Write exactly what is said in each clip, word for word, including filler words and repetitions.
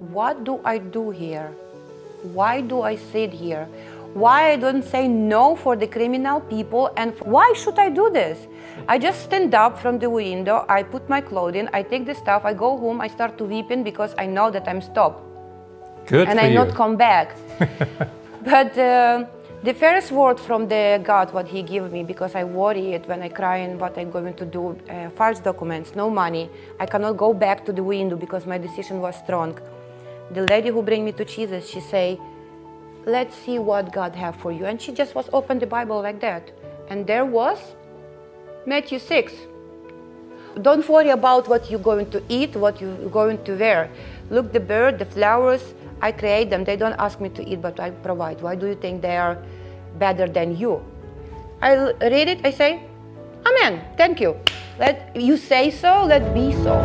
what do I do here? Why do I sit here? Why I don't say no for the criminal people, and why should I do this? I just stand up from the window, I put my clothing, I take the stuff, I go home, I start to weeping because I know that I'm stopped. Good and for I you. not come back. But uh, the first word from the God, what He gave me, because I worried when I crying what I'm going to do, uh, false documents, no money. I cannot go back to the window because my decision was strong. The lady who bring me to Jesus, she say, let's see what God have for you. And she just was open the Bible like that. And there was Matthew six. Don't worry about what you're going to eat, what you're going to wear. Look, the bird, the flowers, I create them. They don't ask me to eat, but I provide. Why do you think they are better than you? I read it, I say, Amen, thank you. Let you say so, let be so.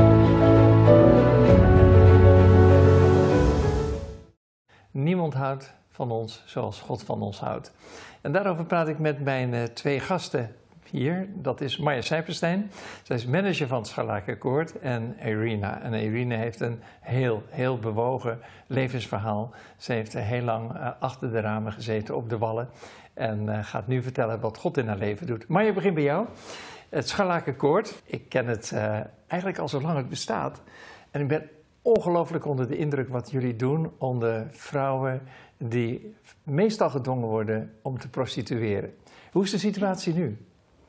Niemand houdt van ons zoals God van ons houdt. En daarover praat ik met mijn uh, twee gasten hier. Dat is Marja Sijperstein. Zij is manager van het Scharlakenkoord. En Irina. En Irina heeft een heel, heel bewogen levensverhaal. Ze heeft uh, heel lang uh, achter de ramen gezeten op de wallen. En uh, gaat nu vertellen wat God in haar leven doet. Marja, ik begin bij jou. Het Scharlakenkoord. Ik ken het uh, eigenlijk al zolang het bestaat. En ik ben ongelooflijk onder de indruk wat jullie doen onder vrouwen die meestal gedwongen worden om te prostitueren. Hoe is de situatie nu?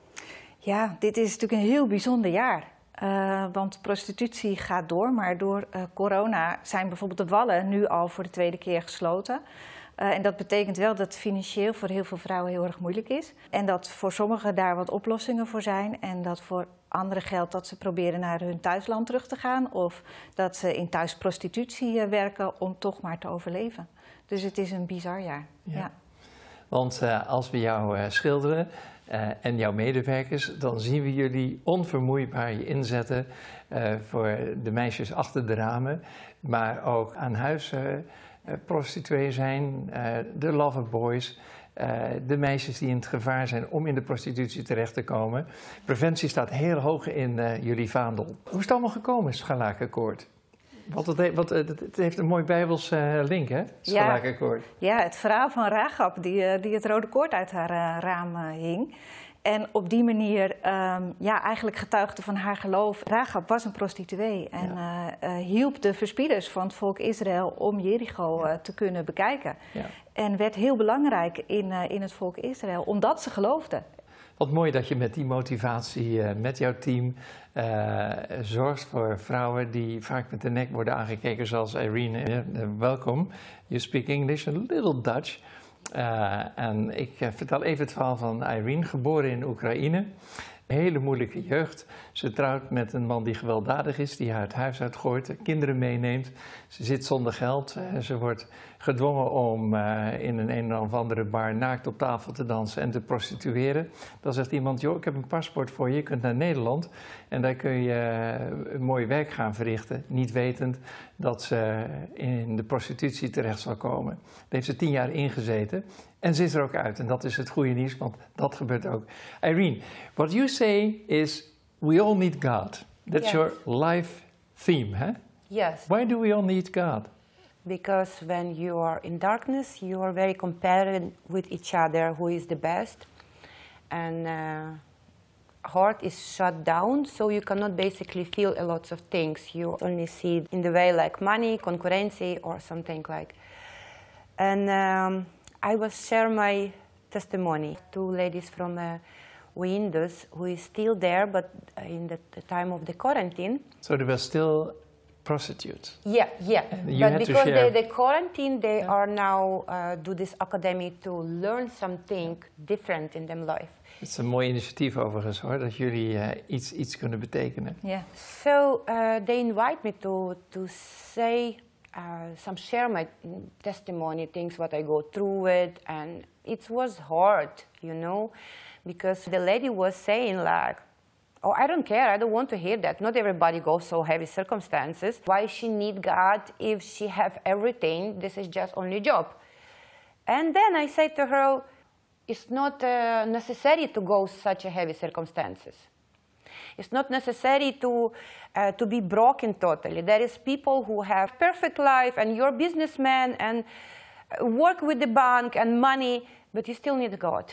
Ja, dit is natuurlijk een heel bijzonder jaar. Uh, want prostitutie gaat door, maar door uh, corona zijn bijvoorbeeld de wallen nu al voor de tweede keer gesloten. Uh, en dat betekent wel dat het financieel voor heel veel vrouwen heel erg moeilijk is. En dat voor sommigen daar wat oplossingen voor zijn. En dat voor anderen geldt dat ze proberen naar hun thuisland terug te gaan. Of dat ze in thuisprostitutie uh, werken om toch maar te overleven. Dus het is een bizar jaar. Ja. Ja. Want uh, als we jou uh, schilderen uh, en jouw medewerkers, dan zien we jullie onvermoeibaar je inzetten uh, voor de meisjes achter de ramen. Maar ook aan huis uh, Uh, prostituee zijn, uh, de loverboys, uh, de meisjes die in het gevaar zijn om in de prostitutie terecht te komen. Preventie staat heel hoog in uh, jullie vaandel. Hoe is het allemaal gekomen, het Scharlakenkoord? Want het, he want het heeft een mooi Bijbels uh, link, hè? Scharlakenkoord. Ja, ja, het verhaal van Rahab die, uh, die het rode koord uit haar uh, raam uh, hing. En op die manier um, ja, eigenlijk getuigde van haar geloof. Rahab was een prostituee en ja. uh, uh, hielp de verspieders van het volk Israël om Jericho uh, te kunnen bekijken. Ja. En werd heel belangrijk in, uh, in het volk Israël, omdat ze geloofden. Wat mooi dat je met die motivatie, uh, met jouw team, uh, zorgt voor vrouwen die vaak met de nek worden aangekeken, zoals Irene. Uh, welkom, you speak English, a little Dutch. Uh, en ik uh, vertel even het verhaal van Irene, geboren in Oekraïne. Een hele moeilijke jeugd. Ze trouwt met een man die gewelddadig is, die haar het huis uitgooit, kinderen meeneemt. Ze zit zonder geld. Uh, ze wordt gedwongen om uh, in een een of andere bar naakt op tafel te dansen en te prostitueren. Dan zegt iemand, joh, ik heb een paspoort voor je, je kunt naar Nederland. En daar kun je uh, een mooi werk gaan verrichten, niet wetend dat ze in de prostitutie terecht zal komen. Daar heeft ze tien jaar ingezeten. En ze is er ook uit. En dat is het goede nieuws, want dat gebeurt ook. Irene, what you say is, we all need God. That's yes. your life theme, huh? Yes. Why do we all need God? Because when you are in darkness, you are very comparing with each other who is the best. And uh, heart is shut down, so you cannot basically feel a lot of things. You only see it in the way like money, concurrency, or something like. And um, I will share my testimony. Two ladies from uh, Windows who is still there, but in the, the time of the quarantine. So they were still prostitutes? Yeah, yeah. You but had because to share. they, the quarantine, they yeah. are now uh, do this academy to learn something different in their life. Het is een mooi initiatief overigens hoor, dat jullie uh, iets, iets kunnen betekenen. Yeah. So uh, they invite me to, to say, uh, some share my testimony, things what I go through it, and it was hard, you know, because the lady was saying like, oh, I don't care, I don't want to hear that. Not everybody goes so heavy circumstances. Why she need God if she have everything? This is just only job. And then I said to her, it's not uh, necessary to go such a heavy circumstances. It's not necessary to, uh, to be broken totally. There is people who have perfect life and you're a businessman and work with the bank and money, but you still need God.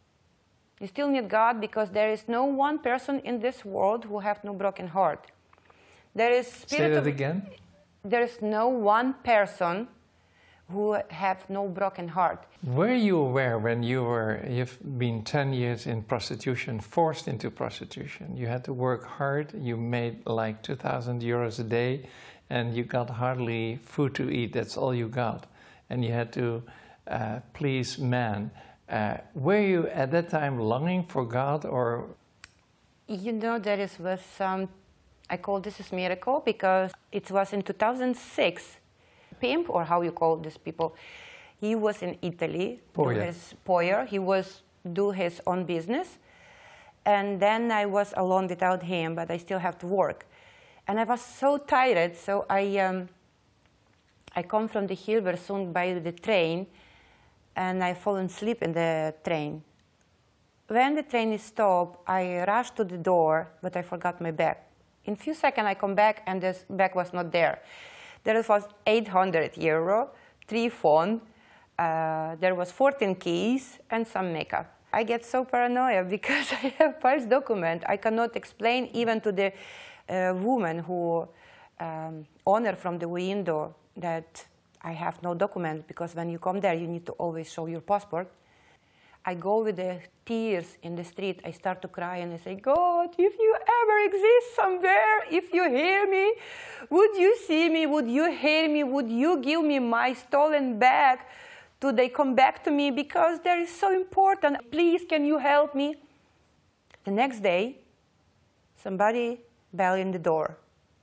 You still need God because there is no one person in this world who have no broken heart. There is spirit Say that of, again. There is no one person who have no broken heart. Were you aware when you were, you've been ten years in prostitution, forced into prostitution? You had to work hard, you made like two thousand euros a day, and you got hardly food to eat, that's all you got. And you had to uh, please men. Uh, were you at that time longing for God, or? You know, there is, was some, I call this a miracle because it was in two thousand six. Pimp, or how you call these people, he was in Italy, do his Poyer, he was do his own business, and then I was alone without him, but I still have to work, and I was so tired, so I um, I come from the Hilversum by the train, and I fall asleep in the train. When the train is stopped, I rush to the door, but I forgot my bag. In a few seconds, I come back, and this bag was not there. There was eight hundred euro, three phone, uh, there was fourteen keys, and some makeup. I get so paranoid because I have false document. I cannot explain even to the uh, woman who um, owner from the window that I have no document, because when you come there, you need to always show your passport. I go with the tears in the street. I start to cry and I say, God, if you ever exist somewhere, if you hear me, would you see me? Would you hear me? Would you give me my stolen bag? Do they come back to me? Because that is so important. Please, can you help me? The next day, somebody bell in the door.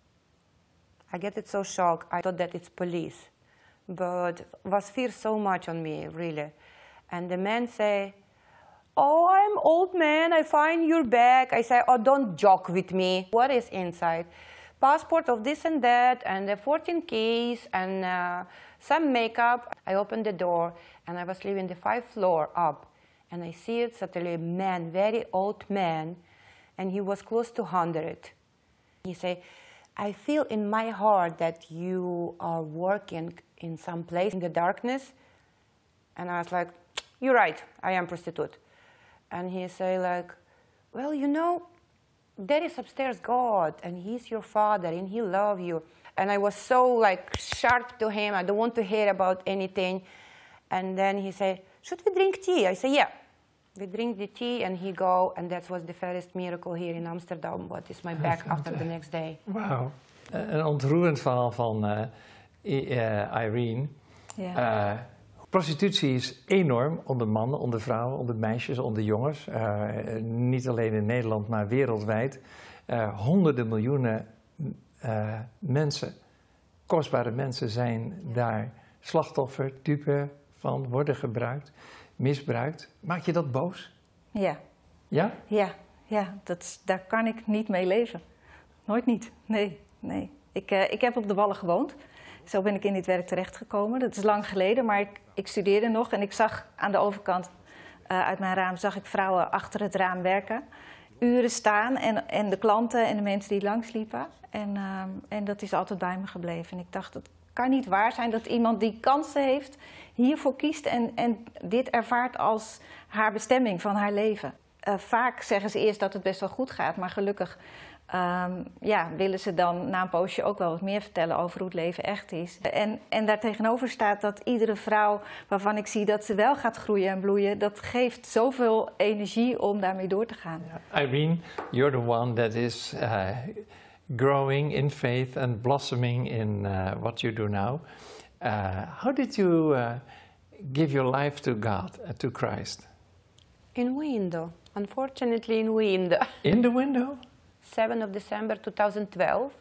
I get it so shocked. I thought that it's police. But was fear so much on me, really. And the man say, oh, I'm old man, I find your bag. I say, oh, don't joke with me. What is inside? Passport of this and that, and the fourteen keys, and uh, some makeup. I opened the door, and I was living the five floor up. And I see it suddenly a man, very old man, and he was close to one hundred. He say, I feel in my heart that you are working in some place in the darkness. And I was like, you're right, I am prostitute. And he say like, well, you know, there is upstairs God, and he's your father, and he love you. And I was so like sharp to him, I don't want to hear about anything. And then he say, should we drink tea? I say, yeah. We drink the tea, and he go, and that was the first miracle here in Amsterdam. What is my back after the next day? Wauw. Een ontroerend verhaal van uh, uh, Irene. Ja. Uh, Prostitutie is enorm onder mannen, onder vrouwen, onder meisjes, onder jongens. Uh, niet alleen in Nederland, maar wereldwijd. Uh, honderden miljoenen uh, mensen, kostbare mensen, zijn daar slachtoffer, dupe van, worden gebruikt, misbruikt. Maak je dat boos? Ja. Ja? Ja, ja dat, daar kan ik niet mee leven. Nooit niet. Nee, nee. Ik, uh, ik heb op de Wallen gewoond. Zo ben ik in dit werk terechtgekomen. Dat is lang geleden, maar ik, ik studeerde nog en ik zag aan de overkant uh, uit mijn raam zag ik vrouwen achter het raam werken. Uren staan en, en de klanten en de mensen die langsliepen. En, uh, en dat is altijd bij me gebleven. En ik dacht, het kan niet waar zijn dat iemand die kansen heeft hiervoor kiest en, en dit ervaart als haar bestemming van haar leven. Uh, vaak zeggen ze eerst dat het best wel goed gaat, maar gelukkig Um, ja, willen ze dan na een poosje ook wel wat meer vertellen over hoe het leven echt is. En, en daartegenover staat dat iedere vrouw waarvan ik zie dat ze wel gaat groeien en bloeien, dat geeft zoveel energie om daarmee door te gaan. Irene, you're the one that is uh, growing in faith and blossoming in uh, what you do now. Uh, how did you uh, give your life to God, uh, to Christ? In window, unfortunately in window. In the window? seventh of December two thousand twelve,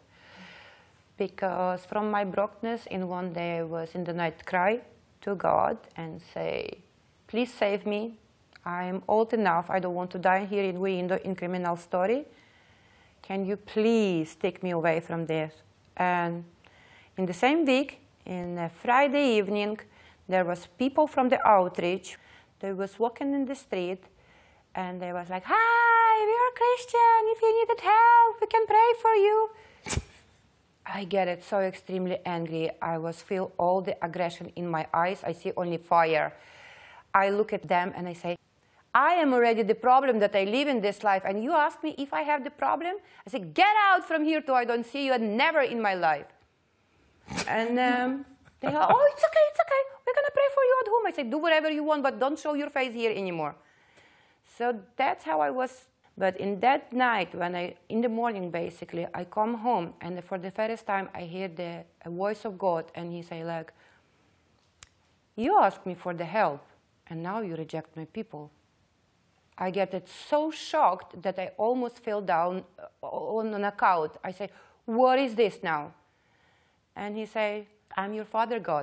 because from my brokenness in one day I was in the night cry to God and say, please save me. I am old enough. I don't want to die here in window in criminal story. Can you please take me away from this? And in the same week, in a Friday evening, there was people from the outreach. They was walking in the street and they was like, hi, we are you're a Christian, if you needed help, we can pray for you. I get it so extremely angry. I was feel all the aggression in my eyes. I see only fire. I look at them and I say, I am already the problem that I live in this life. And you ask me if I have the problem? I say, get out from here till I don't see you and never in my life. And um, they go, oh, it's okay, it's okay. We're going to pray for you at home. I say, do whatever you want, but don't show your face here anymore. So that's how I was. But in that night, when I, in the morning, basically, I come home, and for the first time, I hear the a voice of God, and he say, like, you asked me for the help, and now you reject my people. I get it so shocked that I almost fell down on a couch. I say, what is this now? And he say, I'm your Father God.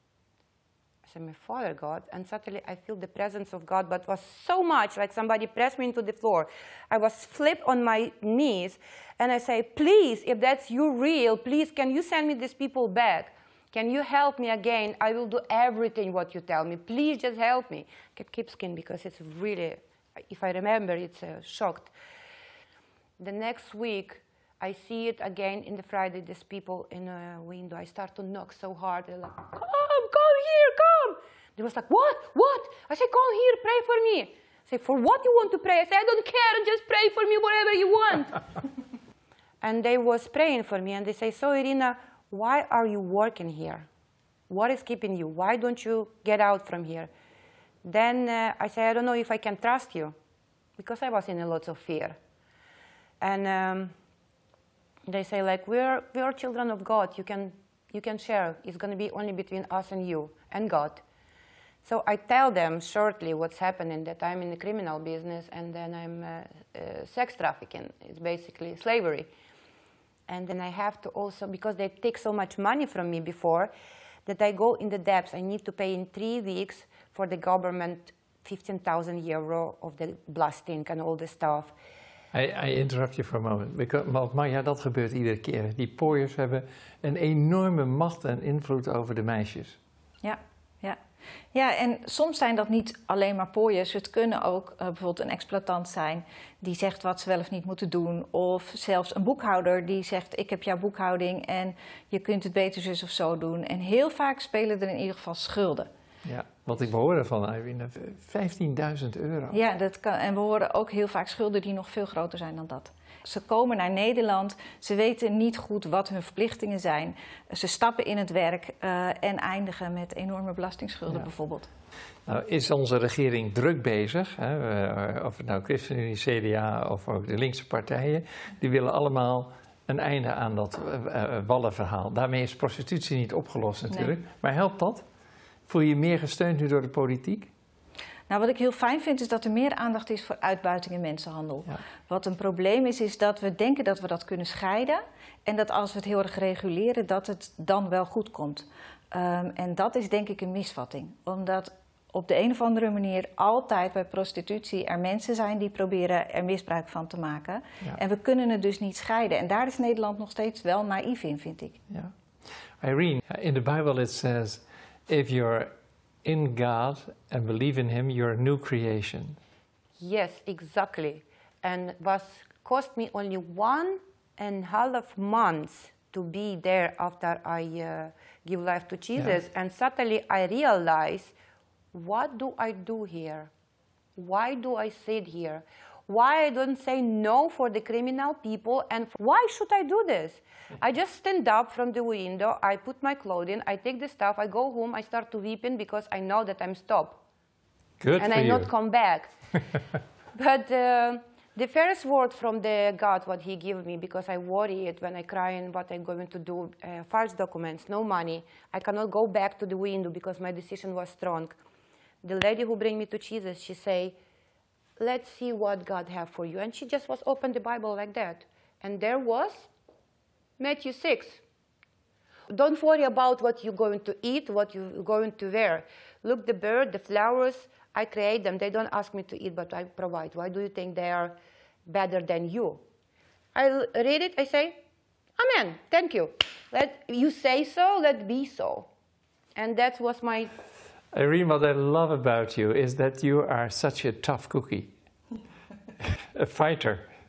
I say, my Father God? And suddenly I feel the presence of God, but it was so much like somebody pressed me into the floor. I was flipped on my knees, and I say, please, if that's you real, please, can you send me these people back? Can you help me again? I will do everything what you tell me. Please just help me. I keep skin because it's really, if I remember, it's uh, shocked. The next week, I see it again in the Friday, these people in a window. I start to knock so hard. They're like, come, come here, come. They was like, what, what? I say, come here, pray for me. I say, for what you want to pray? I say, I don't care, just pray for me, whatever you want. And they was praying for me, and they say, so Irina, why are you working here? What is keeping you? Why don't you get out from here? Then uh, I say, I don't know if I can trust you, because I was in a lot of fear. And um, they say, like, we're, we're children of God. You can, you can share. It's going to be only between us and you and God. So I tell them shortly what's happening, that I'm in the criminal business, and then I'm uh, uh, sex trafficking. It's basically slavery. And then I have to also, because they take so much money from me before, that I go in the depths. I need to pay in three weeks for the government fifteen thousand euro of the blasting and all the stuff. I, I interrupt je voor een moment. Because, maar ja, dat gebeurt iedere keer. Die pooiers hebben een enorme macht en invloed over de meisjes. Ja, ja. Ja, en soms zijn dat niet alleen maar pooiers. Het kunnen ook uh, bijvoorbeeld een exploitant zijn die zegt wat ze wel of niet moeten doen. Of zelfs een boekhouder die zegt, ik heb jouw boekhouding en je kunt het beter zus of zo doen. En heel vaak spelen er in ieder geval schulden. Ja, wat ik hoorde van Irina, vijftienduizend euro. Ja, dat kan, en we horen ook heel vaak schulden die nog veel groter zijn dan dat. Ze komen naar Nederland, ze weten niet goed wat hun verplichtingen zijn. Ze stappen in het werk uh, en eindigen met enorme belastingsschulden ja. bijvoorbeeld. Nou, is onze regering druk bezig, hè? Of het nou ChristenUnie, C D A of ook de linkse partijen, die willen allemaal een einde aan dat uh, wallenverhaal. Daarmee is prostitutie niet opgelost natuurlijk, nee. Maar helpt dat? Voel je je meer gesteund nu door de politiek? Nou, wat ik heel fijn vind is dat er meer aandacht is voor uitbuiting en mensenhandel. Ja. Wat een probleem is, is dat we denken dat we dat kunnen scheiden. En dat als we het heel erg reguleren, dat het dan wel goed komt. Um, en dat is denk ik een misvatting. Omdat op de een of andere manier altijd bij prostitutie er mensen zijn die proberen er misbruik van te maken. Ja. En we kunnen het dus niet scheiden. En daar is Nederland nog steeds wel naïef in, vind ik. Ja. Irene, in the Bible it says, if you're in God and believe in Him, you're a new creation. Yes, exactly. And it was cost me only one and a half months to be there after I uh, give life to Jesus. Yeah. And suddenly I realized, what do I do here? Why do I sit here? Why I don't say no for the criminal people, and why should I do this? I just stand up from the window, I put my clothing, I take the stuff, I go home, I start to weeping because I know that I'm stopped. Good and for I you. not come back. But uh, the first word from the God, what He gave me, because I worried when I crying what I'm going to do, uh, false documents, no money. I cannot go back to the window because my decision was strong. The lady who bring me to Jesus, she say, let's see what God have for you. And she just was open the Bible like that. And there was Matthew six. Don't worry about what you're going to eat, what you're going to wear. Look, the bird, the flowers, I create them. They don't ask me to eat, but I provide. Why do you think they are better than you? I read it, I say, Amen, thank you. Let you say so, let be so. And that was my... Irene, what I love about you is that you are such a tough cookie, a fighter.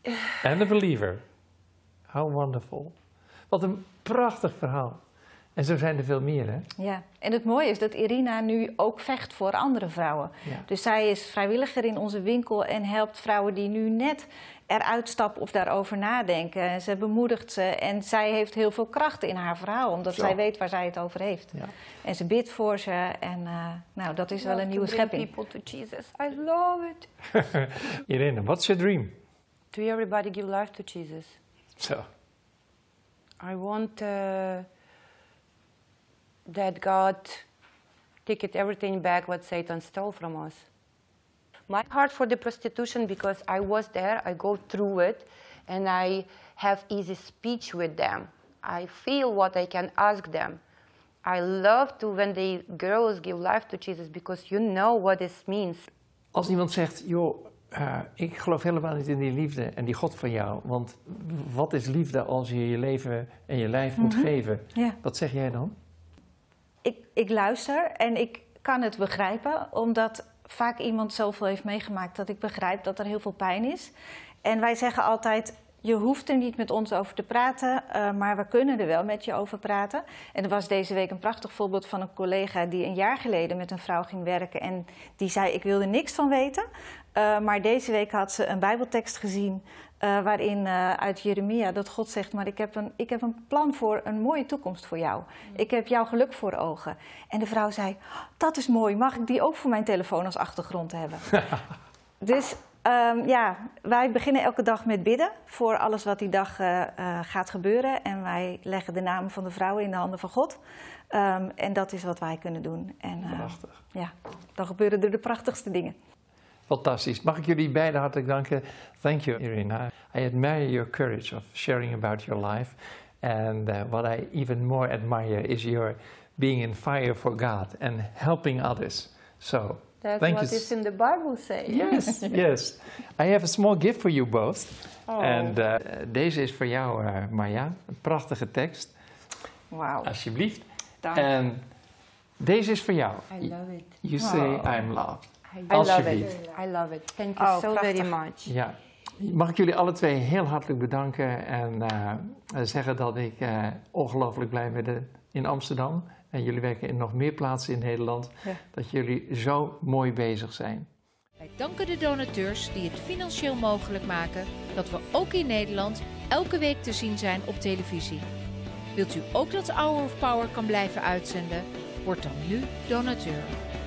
And a believer. How wonderful. Wat een prachtig verhaal. En zo zijn er veel meer, hè? Ja, en het mooie is dat Irina nu ook vecht voor andere vrouwen. Ja. Dus zij is vrijwilliger in onze winkel en helpt vrouwen die nu net eruit stappen of daarover nadenken. En ze bemoedigt ze en zij heeft heel veel kracht in haar verhaal, omdat Zo. zij weet waar zij het over heeft. Ja. En ze bidt voor ze en uh, nou, dat is wel een nieuwe schepping. People to Jesus. I love it. Irina, what's your dream? To everybody give life to Jesus. Zo. I want uh, that God take it everything back what Satan stole from us. My heart for the prostitution, because I was there, I go through it, and I have easy speech with them. I feel what I can ask them. I love to when the girls give life to Jesus, because you know what this means. Als iemand zegt, joh, uh, ik geloof helemaal niet in die liefde en die God van jou. Want wat is liefde als je je leven en je lijf moet Mm-hmm. geven? Ja. Wat zeg jij dan? Ik, ik luister en ik kan het begrijpen, omdat vaak iemand zoveel heeft meegemaakt dat ik begrijp dat er heel veel pijn is. En wij zeggen altijd, je hoeft er niet met ons over te praten, uh, maar we kunnen er wel met je over praten. En er was deze week een prachtig voorbeeld van een collega die een jaar geleden met een vrouw ging werken. En die zei, ik wil er niks van weten. Uh, maar deze week had ze een bijbeltekst gezien uh, waarin uh, uit Jeremia dat God zegt, maar ik heb, een, ik heb een plan voor een mooie toekomst voor jou. Ik heb jouw geluk voor ogen. En de vrouw zei, dat is mooi, mag ik die ook voor mijn telefoon als achtergrond hebben? Dus um, ja, wij beginnen elke dag met bidden voor alles wat die dag uh, uh, gaat gebeuren. En wij leggen de namen van de vrouwen in de handen van God. Um, en dat is wat wij kunnen doen. En, uh, Prachtig. Ja, dan gebeuren er de prachtigste dingen. Fantastisch. Mag ik jullie beiden hartelijk danken. Thank you, Irina. I admire your courage of sharing about your life. And uh, what I even more admire is your being in fire for God and helping others. So, That's thank what you. is in the Bible say. Yes, yes. I have a small gift for you both. Oh. And uh, deze is voor jou, uh, Marja. Een prachtige tekst. Wauw. Alsjeblieft. Dank. En deze is voor jou. I love it. You say Oh. I'm loved. I love Alsjeblieft. it. I love it. Thank you Oh, so prachtig. very much. Ja. Mag ik jullie alle twee heel hartelijk bedanken en uh, zeggen dat ik uh, ongelooflijk blij ben in Amsterdam. En jullie werken in nog meer plaatsen in Nederland. Ja. Dat jullie zo mooi bezig zijn. Wij danken de donateurs die het financieel mogelijk maken dat we ook in Nederland elke week te zien zijn op televisie. Wilt u ook dat Hour of Power kan blijven uitzenden? Word dan nu donateur.